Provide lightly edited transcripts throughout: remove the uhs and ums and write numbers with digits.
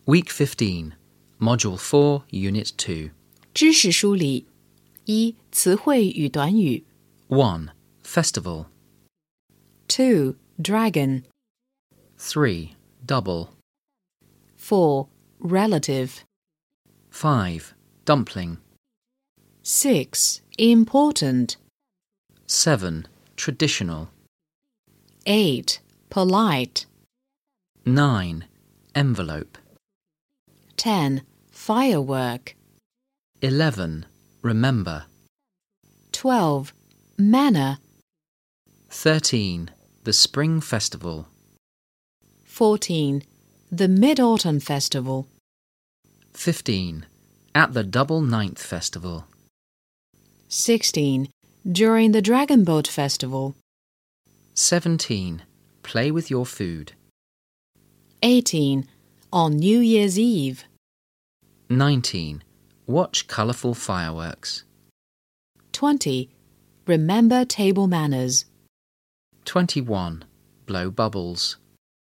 Week 15, Module 4, Unit 2. 知识梳理一、词汇与短语 1. Festival. 2. Dragon 3. Double. 4. Relative 5. Dumpling. 6. Important 7. Traditional. 8. Polite 9. Envelope. 10. Firework 11. Remember. 12. Manner 13. The Spring Festival. 14. The Mid-Autumn Festival 15. At the Double Ninth Festival. 16. During the Dragon Boat Festival 17. Play with your food. 18. On New Year's Eve 19. Watch colourful fireworks. 20. Remember table manners 21. Blow bubbles.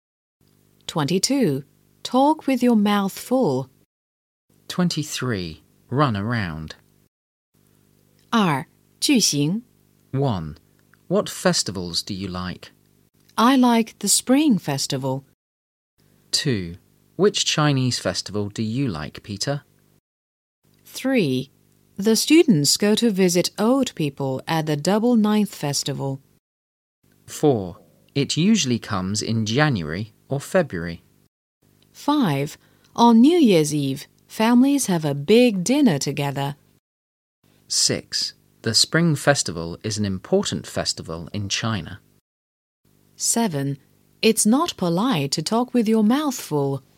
22. Talk with your mouth full 23. Run around. 2. 句型 1. What festivals do you like? I like the Spring Festival. 2. Which Chinese festival do you like, Peter? 3. The students go to visit old people at the Double Ninth Festival. 4. It usually comes in January or February. 5. On New Year's Eve, families have a big dinner together. 6. The Spring Festival is an important festival in China. 7. It's not polite to talk with your mouth full.